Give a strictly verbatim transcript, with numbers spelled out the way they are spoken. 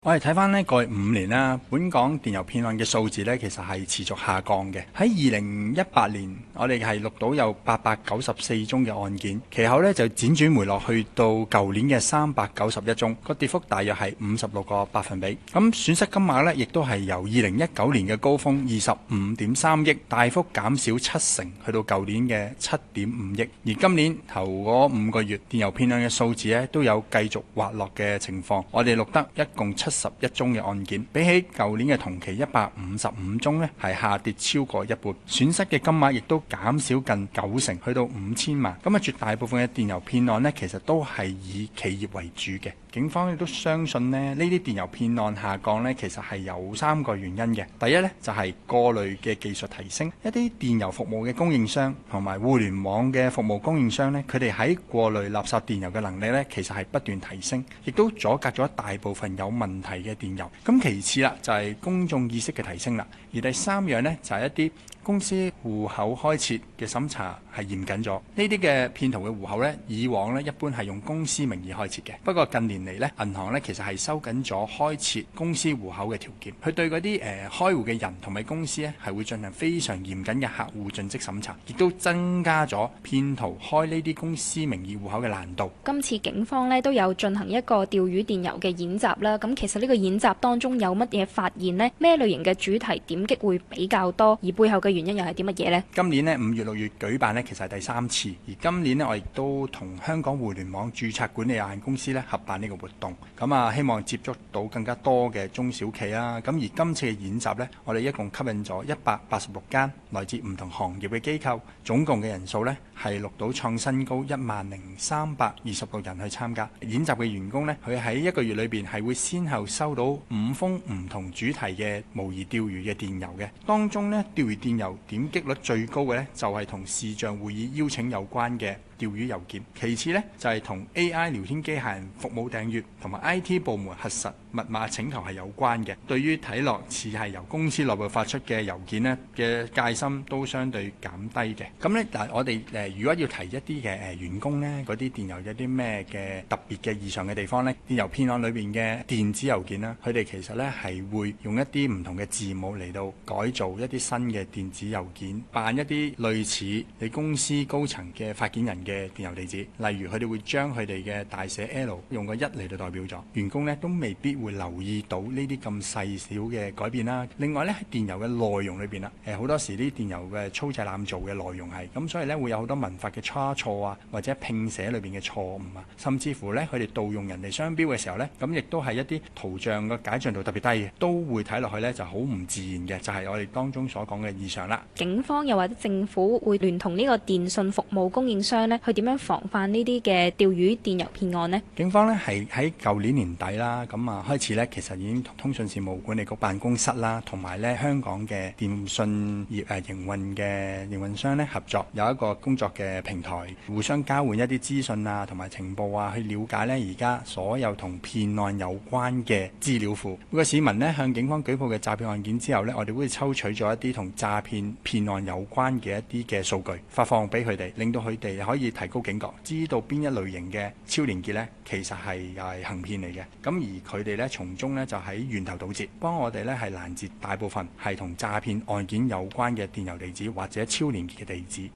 我哋睇翻呢過去五年啦，本港電郵騙案嘅數字呢，其實係持續下降嘅。喺二零一八年，我哋係錄到有八百九十四宗嘅案件，其後呢就輾轉回落去到舊年嘅三百九十一宗，個跌幅大約係五十六個百分比。咁損失金額呢，亦都係由二零一九年嘅高峰二十五點三億，大幅減少七成，去到舊年嘅七點五億。而今年頭嗰五個月，電郵騙案嘅數字呢，都有繼續滑落嘅情況。我哋錄得一共七十一宗嘅案件，比起舊年嘅同期一百五十五宗呢，係下跌超過一半，損失嘅金額亦都減少近九成，去到五千萬。咁啊，絕大部分嘅電郵騙案呢，其實都係以企業為主嘅。警方亦都相信呢，呢啲電郵騙案下降呢，其實係有三個原因嘅。第一呢，就係過濾嘅技術提升，一啲電郵服務嘅供應商同埋互聯網嘅服務供應商呢，佢哋喺過濾垃圾電郵嘅能力呢，其實係不斷提升，亦都阻隔咗大部分有問題嘅電郵。咁其次啦，就係公眾意識嘅提升啦。而第三樣呢，就係一啲公司戶口開設嘅審查係嚴謹咗。呢啲嘅騙徒嘅戶口呢，以往呢一般係用公司名義開設嘅，不過近年嚟呢，銀行呢其實係收緊咗開設公司戶口嘅條件，佢對嗰啲誒開戶嘅人同埋公司呢，係會進行非常嚴謹嘅客戶盡職審查，亦都增加咗騙徒開呢啲公司名義戶口嘅難度。 今次警方呢都有進行一個釣魚電郵嘅演習啦。咁其實呢個演習當中有乜嘢發現呢？咩類型嘅主題點擊會比較多？而背後嘅原因又係啲乜嘢呢？ 今年呢五月六月舉辦呢，其實係第三次。而今年呢，我亦都同香港互聯網註冊管理有限公司呢合辦呢個活動。咁啊，希望接觸到更加多嘅中小企啦。咁而今次嘅演習呢，我哋一共吸引咗一百八十六間來自唔同行業嘅機構，總共嘅人數呢係錄到創新高一萬零三百二十六人去參加。演習嘅員工呢，佢喺一個月裏邊係會先後收到五封唔同主題嘅模擬釣魚嘅電郵嘅，當中呢，釣魚電郵點擊率最高嘅呢，就係同視像會議邀請有關嘅釣魚郵件，其次呢，就係、是、同 A I 聊天機械人服務訂閱同埋 I T 部門核實密碼請求係有關嘅。對於睇落似係由公司內部發出嘅郵件呢嘅戒心都相對減低嘅。咁呢，嗱，我哋誒、呃、如果要提一啲嘅誒員工呢，嗰啲電郵有啲咩嘅特別嘅異常嘅地方呢？電郵騙案裏邊嘅電子郵件啦，佢哋其實呢係會用一啲唔同嘅字母嚟到改造一啲新嘅電子郵件，扮一啲類似你公司高層嘅發件人嘅嘅電郵地址，例如佢哋會將佢哋嘅大寫 L 用個一嚟到代表咗，員工呢都未必會留意到呢啲咁細小嘅改變啦。另外呢，喺電郵嘅內容裏邊啦，誒好多時啲電郵嘅粗製濫造嘅內容係咁，所以呢會有好多文法嘅差錯啊，或者拼寫裏邊嘅錯誤啊，甚至乎呢，佢哋盜用人哋商標嘅時候呢，咁亦都係一啲圖像嘅解像度特別低嘅，都會睇落去呢就好唔自然嘅，就係、是、我哋當中所講嘅異常啦。 警方又或者政府會聯同呢個電信服務供應商呢，去點樣防範呢啲嘅釣魚電郵騙案呢？ 警方呢係喺舊年年底啦，咁啊開始呢，其實已經同通訊事務管理局辦公室啦，同埋呢香港嘅電信業誒營運嘅營運商呢合作，有一個工作嘅平台，互相交換一啲資訊啊，同埋情報啊，去了解呢而家所有同騙案有關嘅資料庫。每個市民呢向警方舉報嘅詐騙案件之後呢，我哋會抽取咗一啲同詐騙騙案有關嘅一啲嘅數據，發放俾佢哋，令到佢哋可以提高警覺，知道邊一類型嘅超連結呢，其實係又係行騙嚟嘅。咁而佢哋呢，從中呢，就喺源頭堵截，幫我哋呢係攔截大部分係同詐騙案件有關嘅電郵地址或者超連結嘅地址。